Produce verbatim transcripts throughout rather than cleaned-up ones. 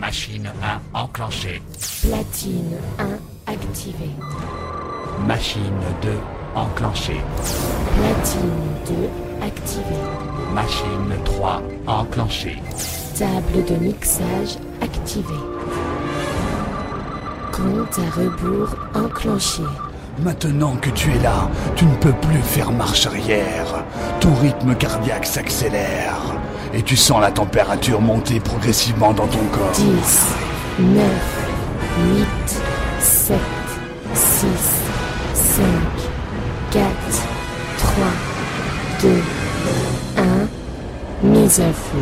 Machine un enclenchée. Platine un activée. Machine deux enclenchée. Platine deux activée. Machine trois enclenchée. Table de mixage activée. Compte à rebours enclenché. Maintenant que tu es là, tu ne peux plus faire marche arrière. Ton rythme cardiaque s'accélère. Et tu sens la température monter progressivement dans ton corps. dix, neuf, huit, sept, six, cinq, quatre, trois, deux, un, mise à feu.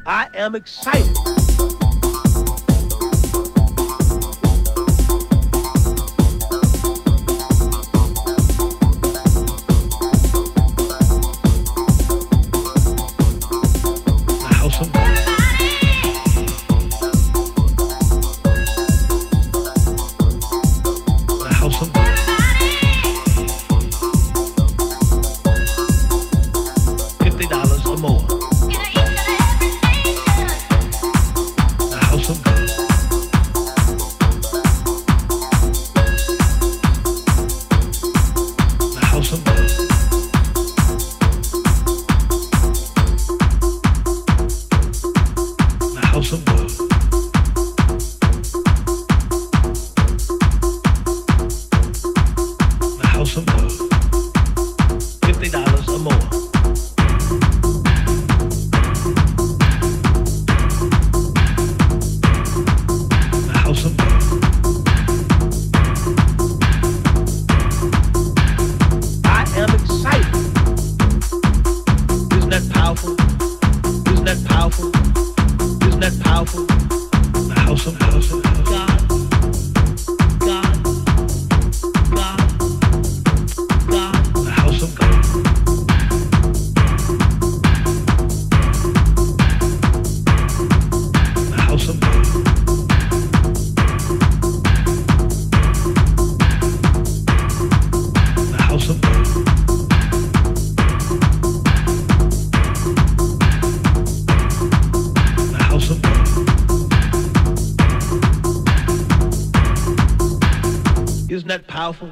I am excited. Isn't that powerful?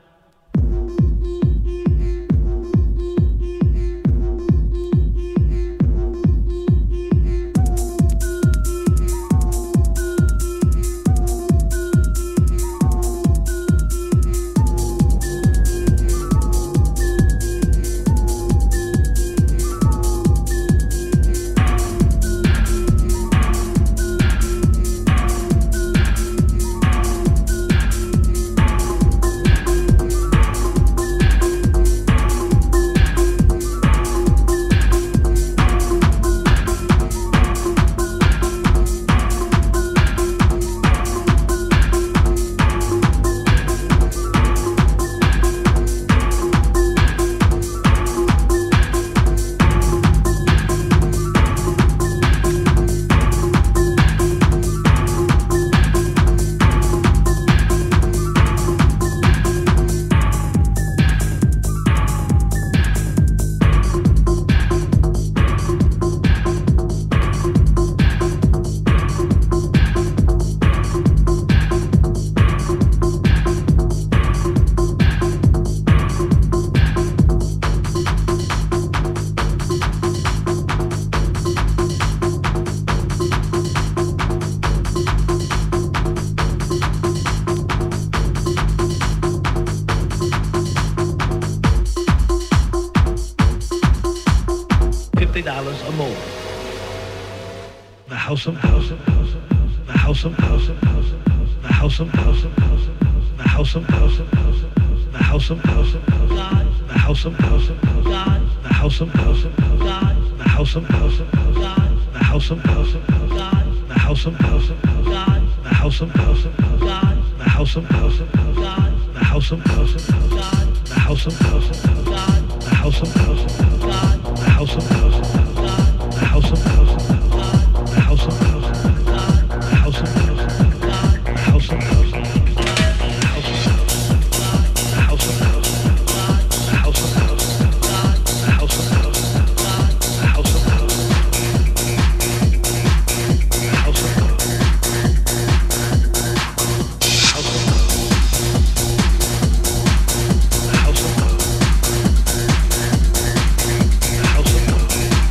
Or more. The house of house of house of the house of house of house of the house of house of house of the house of house of house of the house of house of God, the house of house of God, the house of house of God, the house of house of God, the house of house of God, the house of house of God, the house of house of God, the house of house of God, the house of house of God, the house of house of God, the house of house of God, the house of house of God. The house of house of God, the house of house of God, the house of house of God, the house of house of God, the house of house of God, the house of house of God, the house of house of God, the house of house of God, the house of house, the house of house, the house of house, the house of house.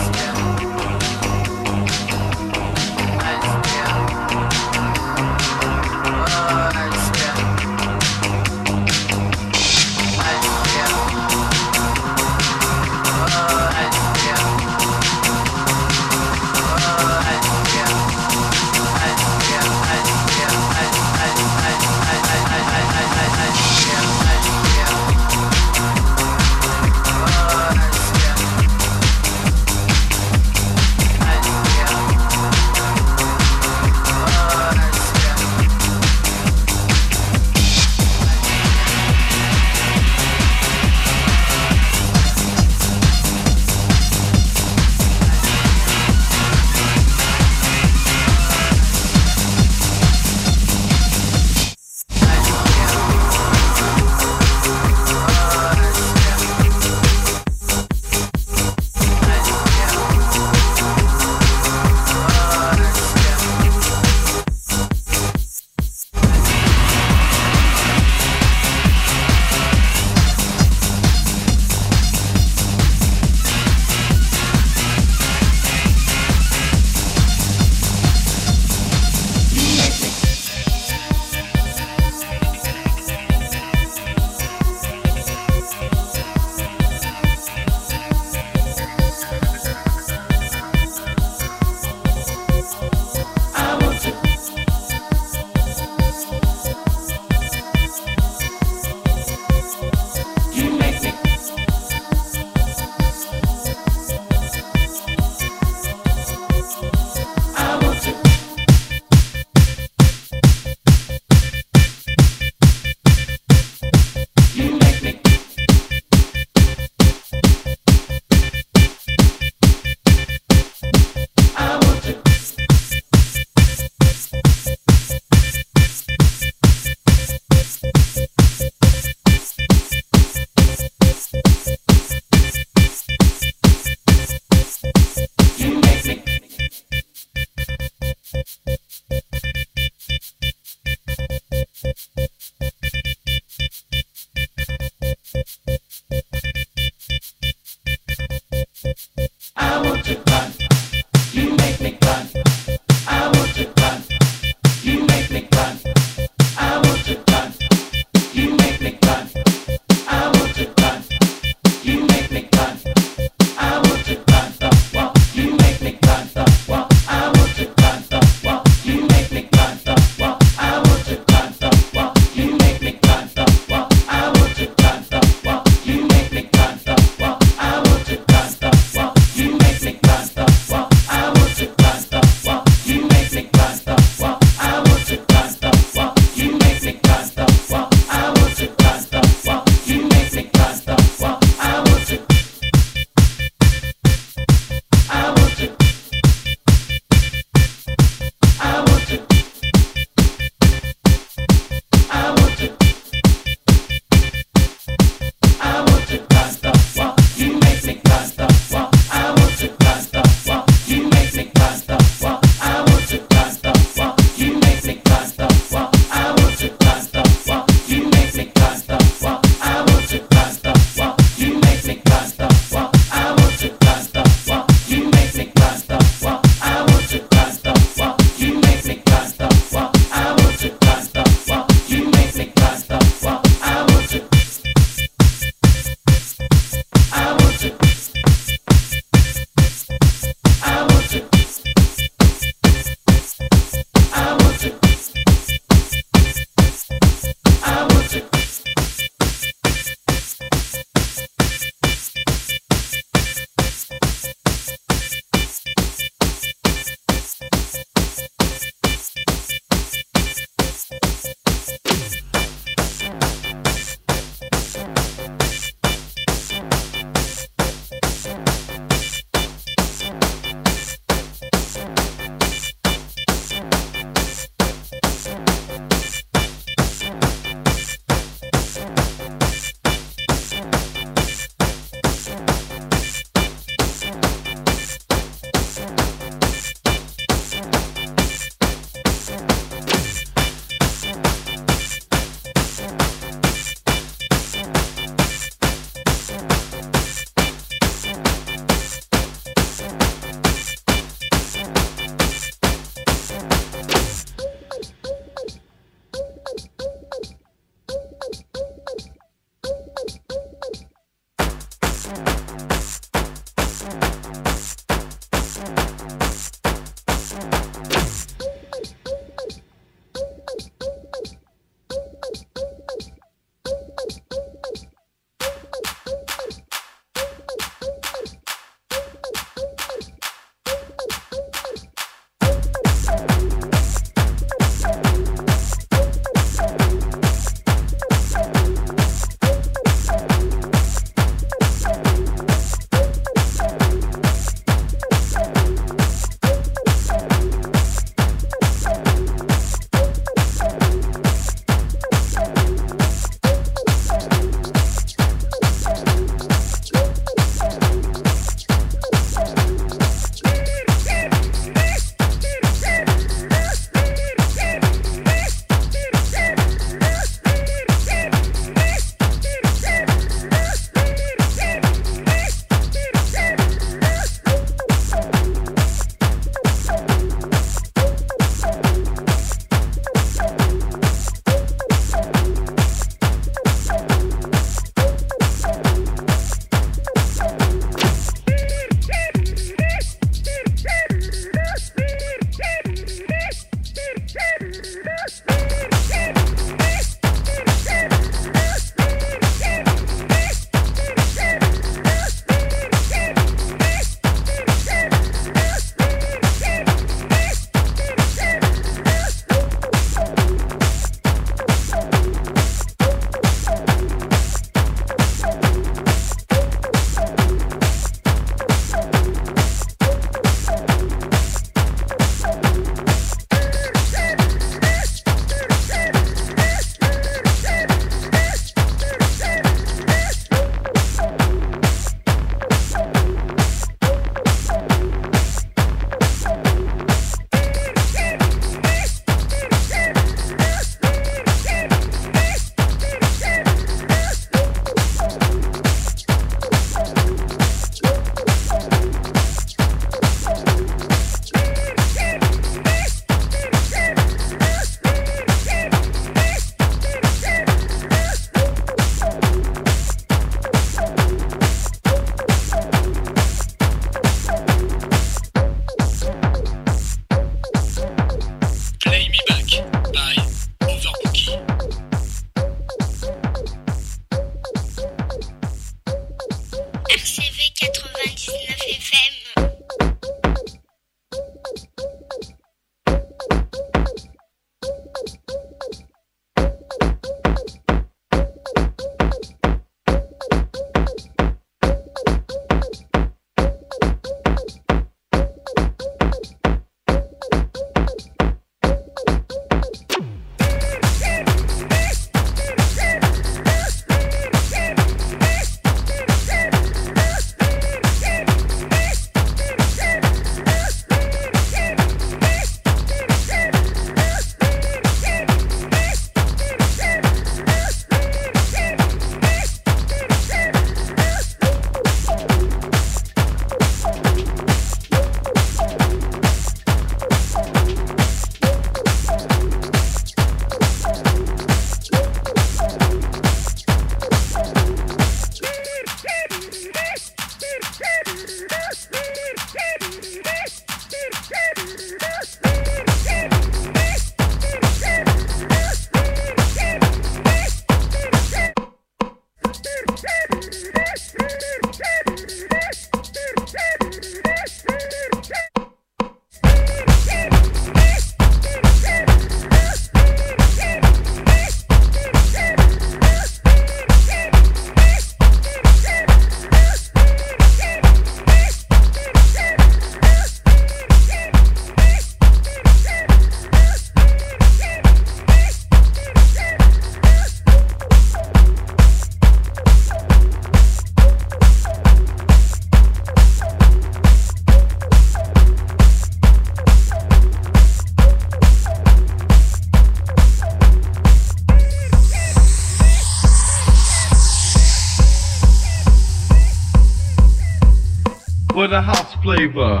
for the house flavor.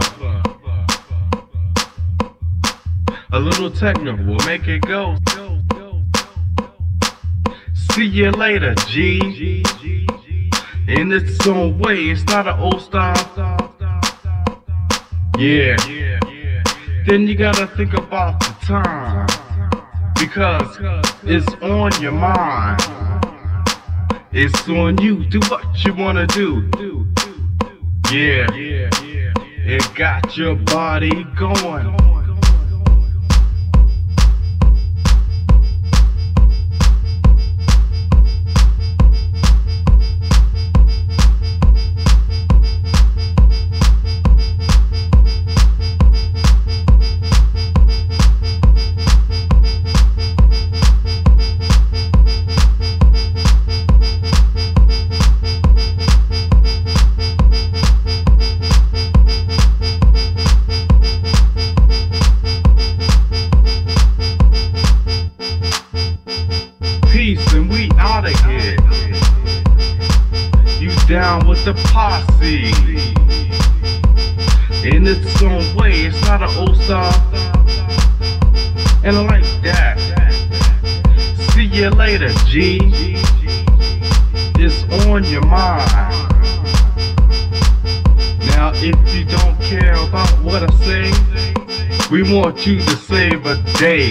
A little techno will make it go. See you later, G. In its own way, it's not an old style. Yeah. Then you gotta think about the time, because it's on your mind. It's on you. Do what you wanna do. Yeah. It got your body going. And we outta here. You down with the posse. In its own way, it's not an old style. And I like that. See you later, G. It's on your mind. Now if you don't care about what I say, we want you to save a day.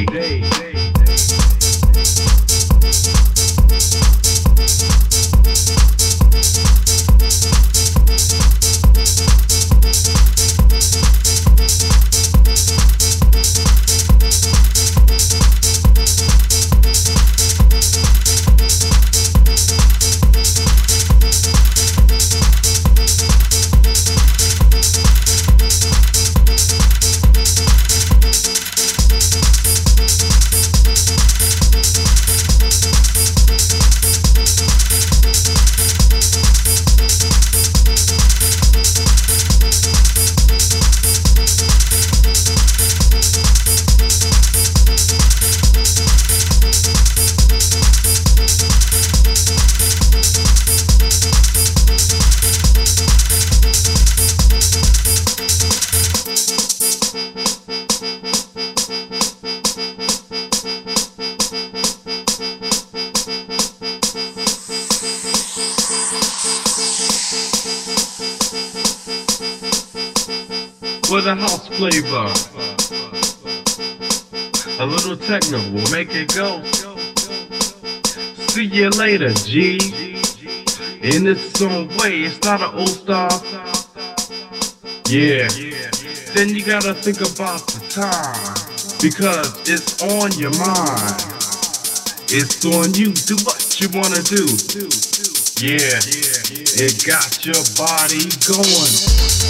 For the house flavor, a little techno will make it go. See you later, G. In its own way, it's not an old style. Yeah. Then you gotta think about the time, because it's on your mind. It's on you. Do what you wanna do. Yeah. It got your body going.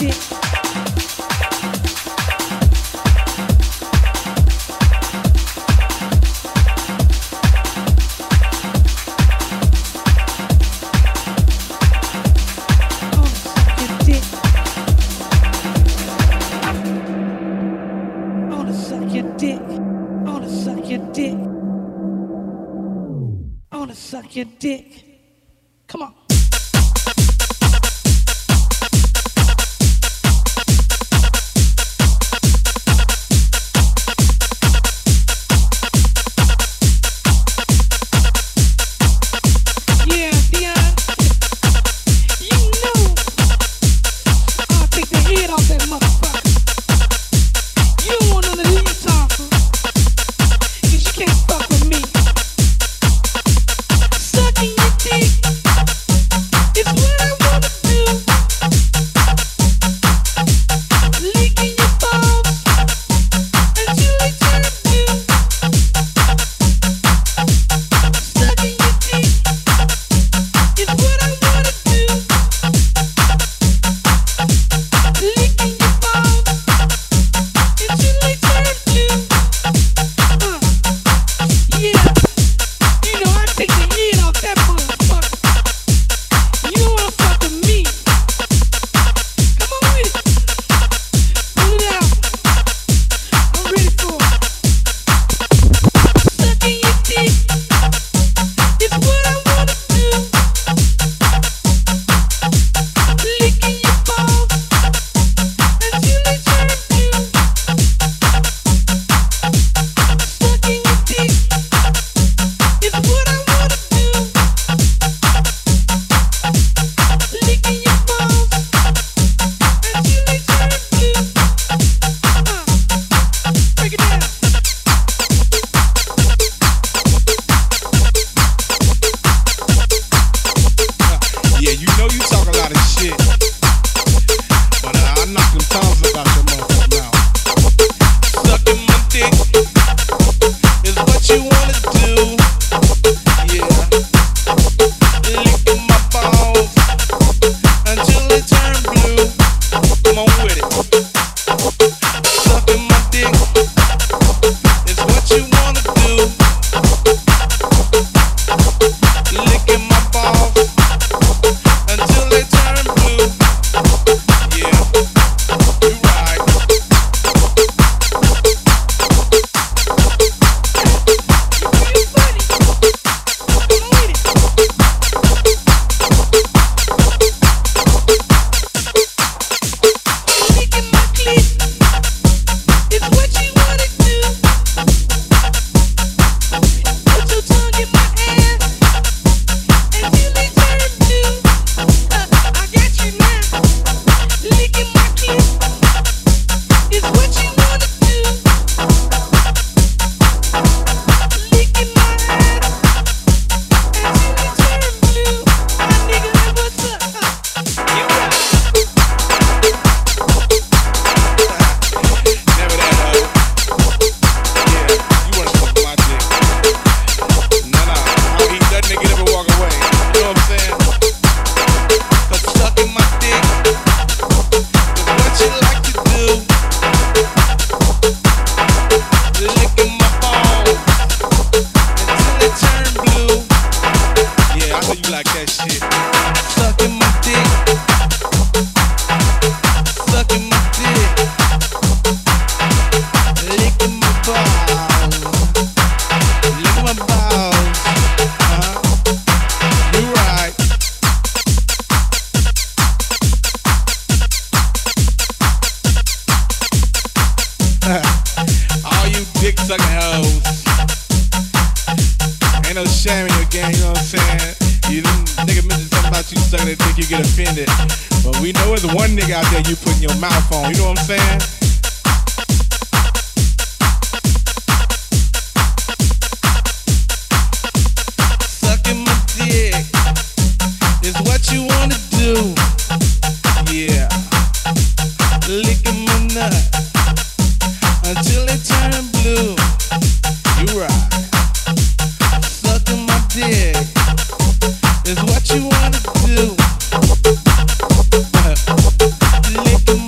Your dick. Come on. Yeah, Dion. You know I'll take the head off that motherfucker. You don't want none of these talking, 'cause you can't fuck with me. Sucking your dick is what I wanna do. Licking your balls until they turn blue. Sucking your dick is what I wanna do. Licking your balls until they turn blue. Uh, yeah. You know I take the head off that motherfucker. You don't wanna fuck with me. Come on with it. Pull it out. I'm ready for it. Sucking your dick is what I wanna do. Licking your balls until they turn blue. Sucking your dick is what I wanna do. Licking your balls until they turn blue. Uh, break it down. Yeah, you know you talk a lot of shit, but uh, I knock them tongues about your motherfucking mouth. Sucking my dick is what you wanna do. Yeah, licking my balls until they turn blue. Come on with it. Sucking my dick is what you wanna do. Licking my balls until they turn blue. Yeah, you right. You funny. Come on with it. Licking my clit is what you wanna do. Put your tongue in my ass until they turn blue. Uh, I got you now. Licking my clit is what you wanna do. Licking my ass until they turn blue. My nigga, what's up? Uh, you right. Never that hoe. Yeah, you wanna fuck my dick. Nah, nah, I'll eat that nigga never walk away. You know what I'm saying? 'Cause sucking my dick is what you like to do. Licking my balls until they turn blue. Yeah, I know you like that shit. Sucking my dick. Sucking my dick. Licking my balls. Licking my balls. Uh-huh. You right. All you dick sucking hoes. Ain't no shame in your game, you know what I'm saying? You nigga mention something about you sucking that dick, you get offended. But we know there's one nigga out there you putting your mouth on, you know what I'm saying? Sucking my dick is what you wanna do. Yeah. Licking my nut until it turn blue. You right. Sucking my dick is what you wanna do. Licking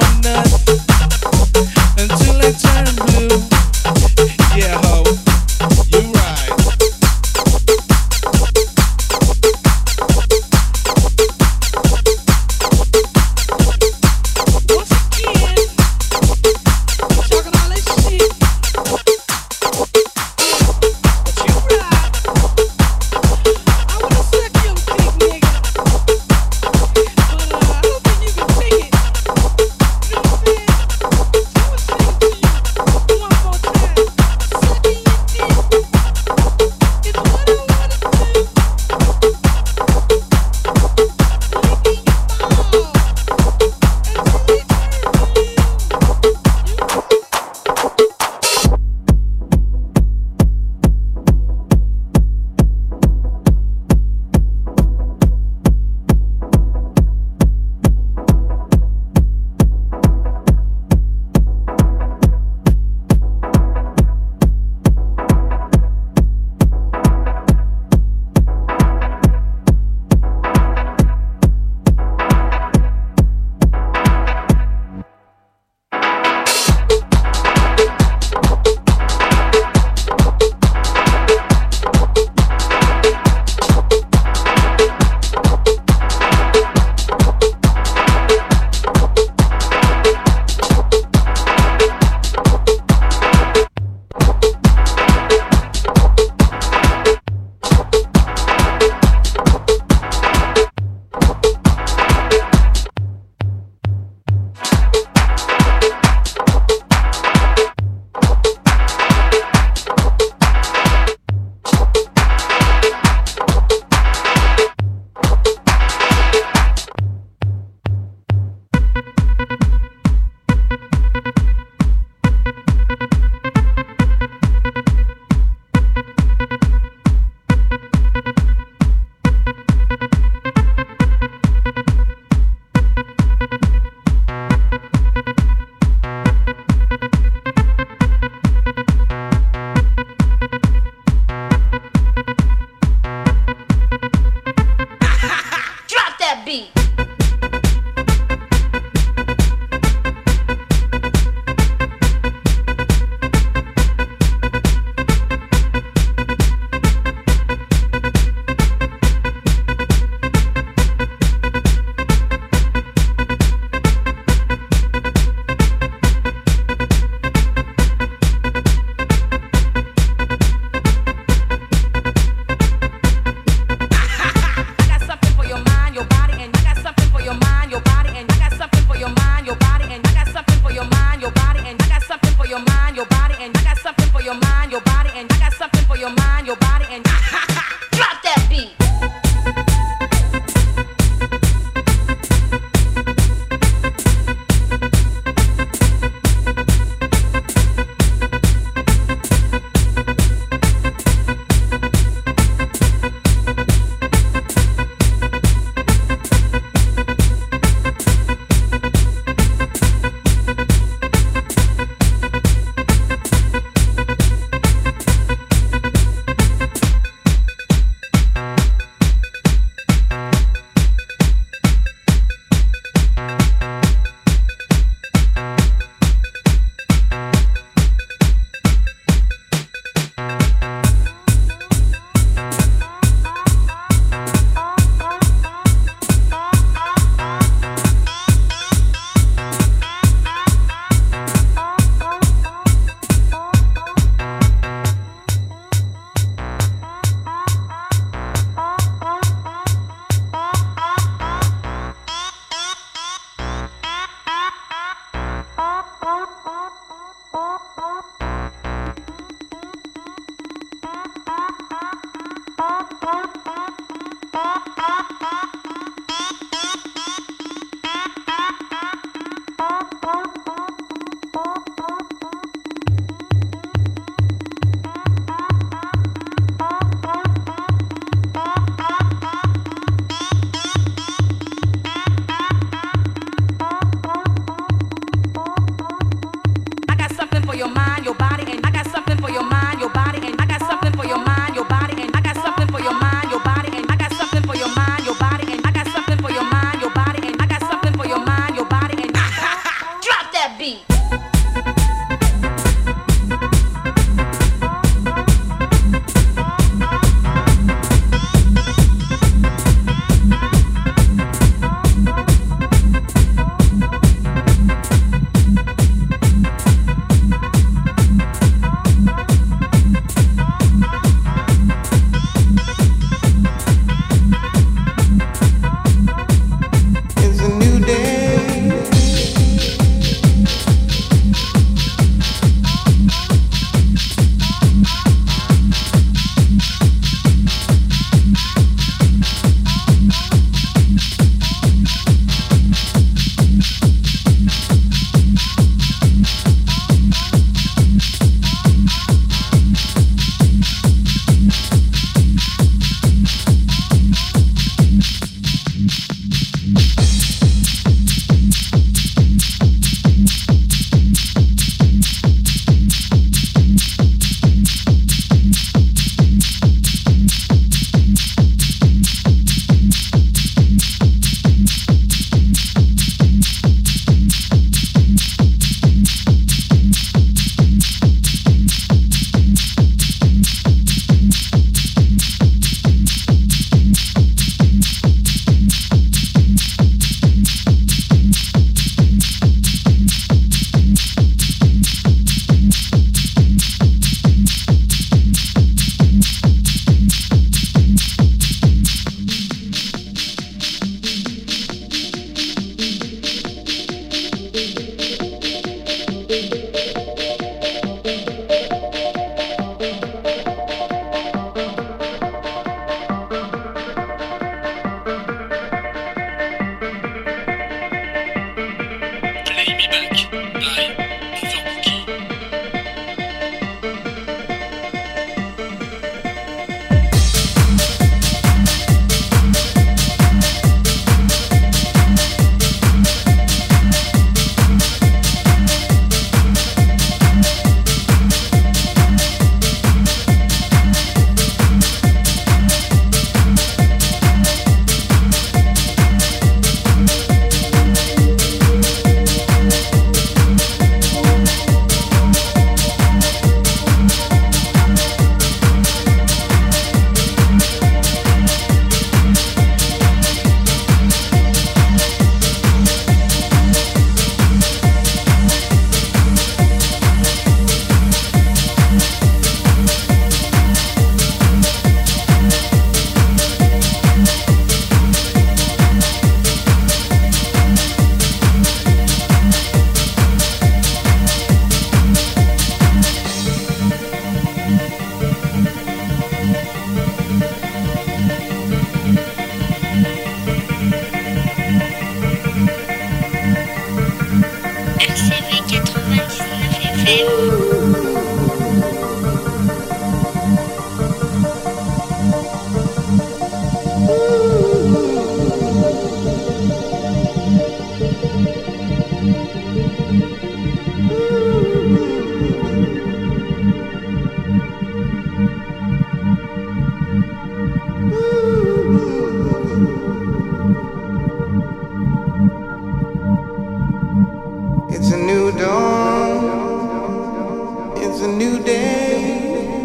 It's a new dawn, it's a new day,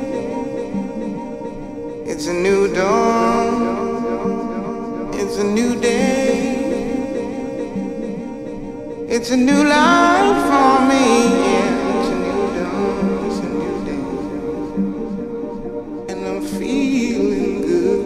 it's a new dawn, it's a new day, it's a new life for me, yeah, it's a new dawn, it's a new day, and I'm feeling good.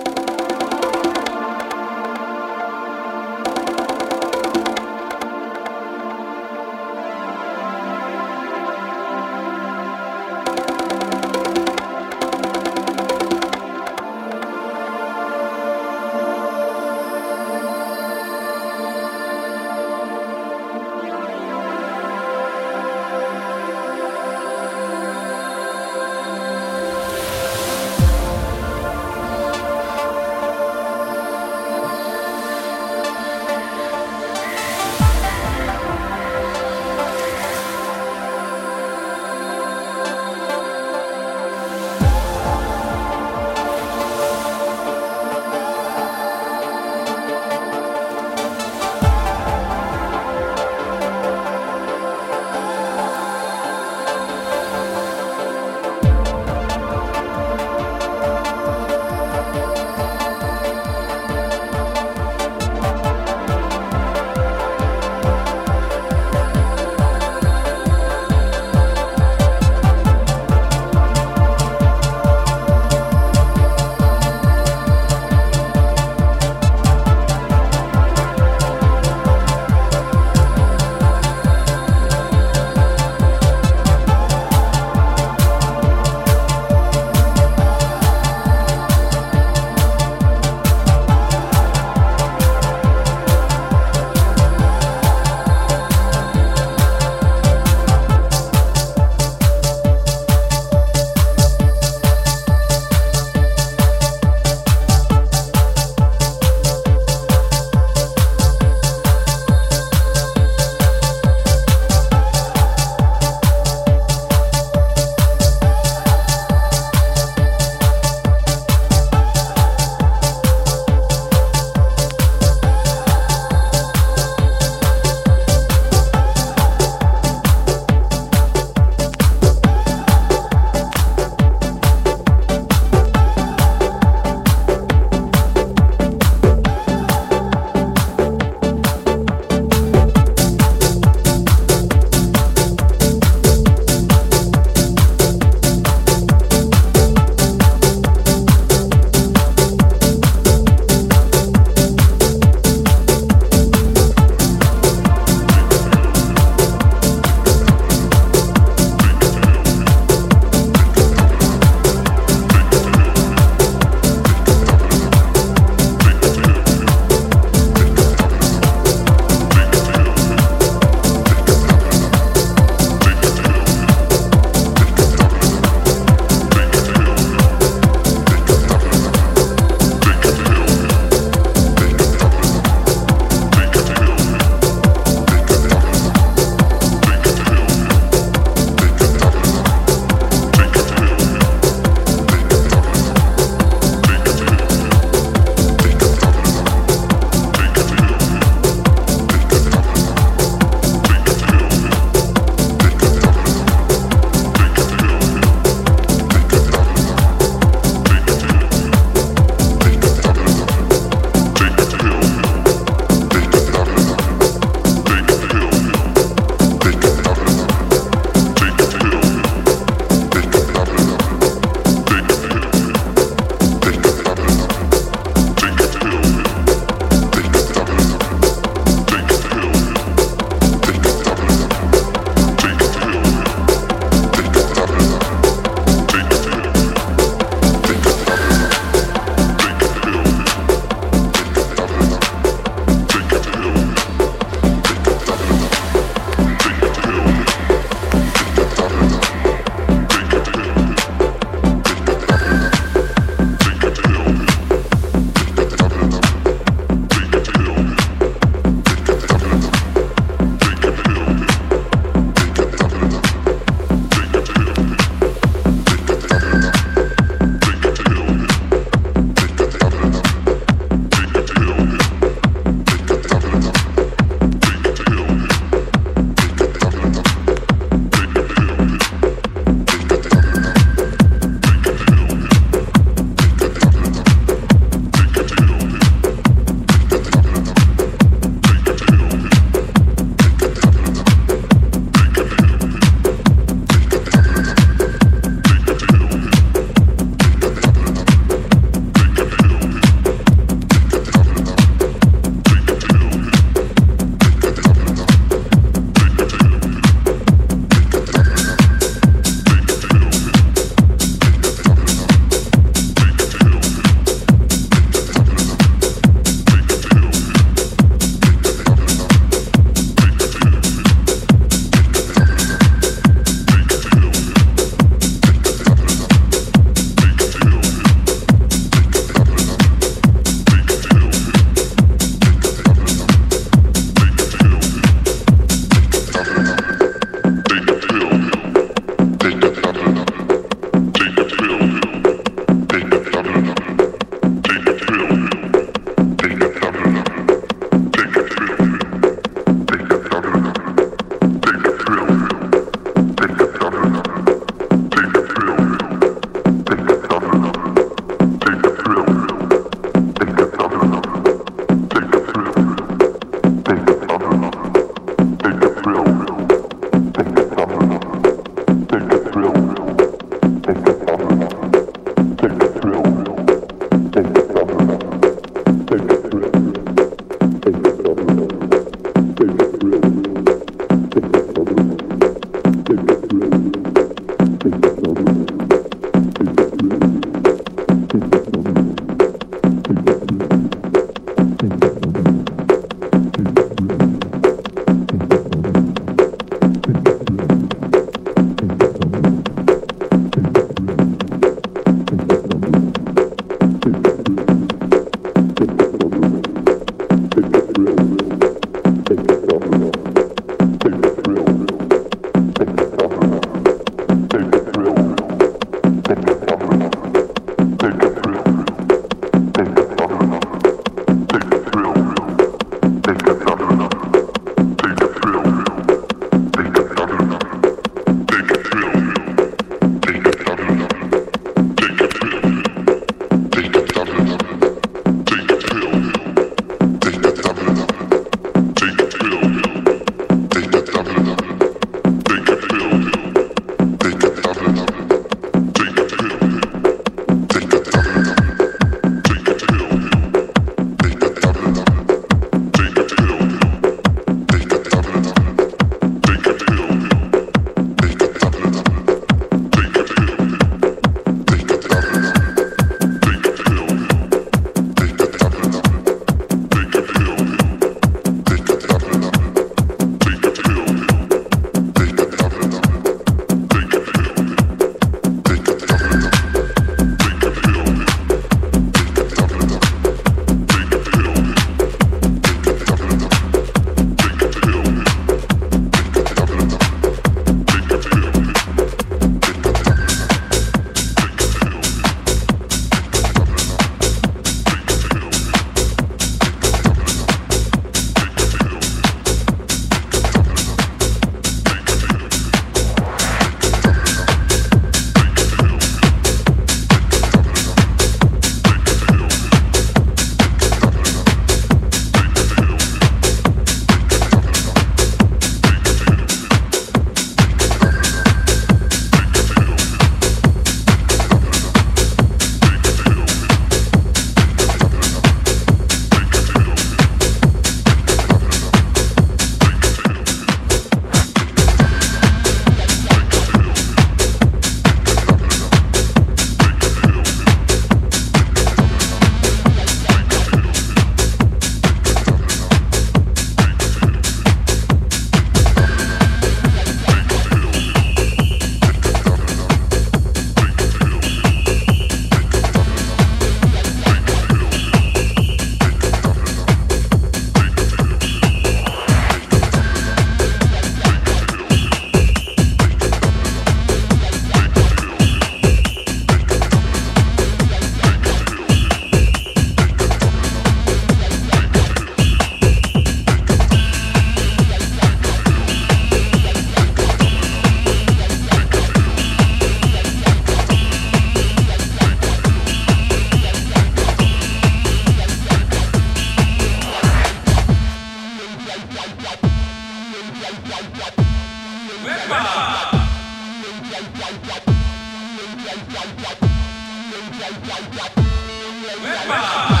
Wepa!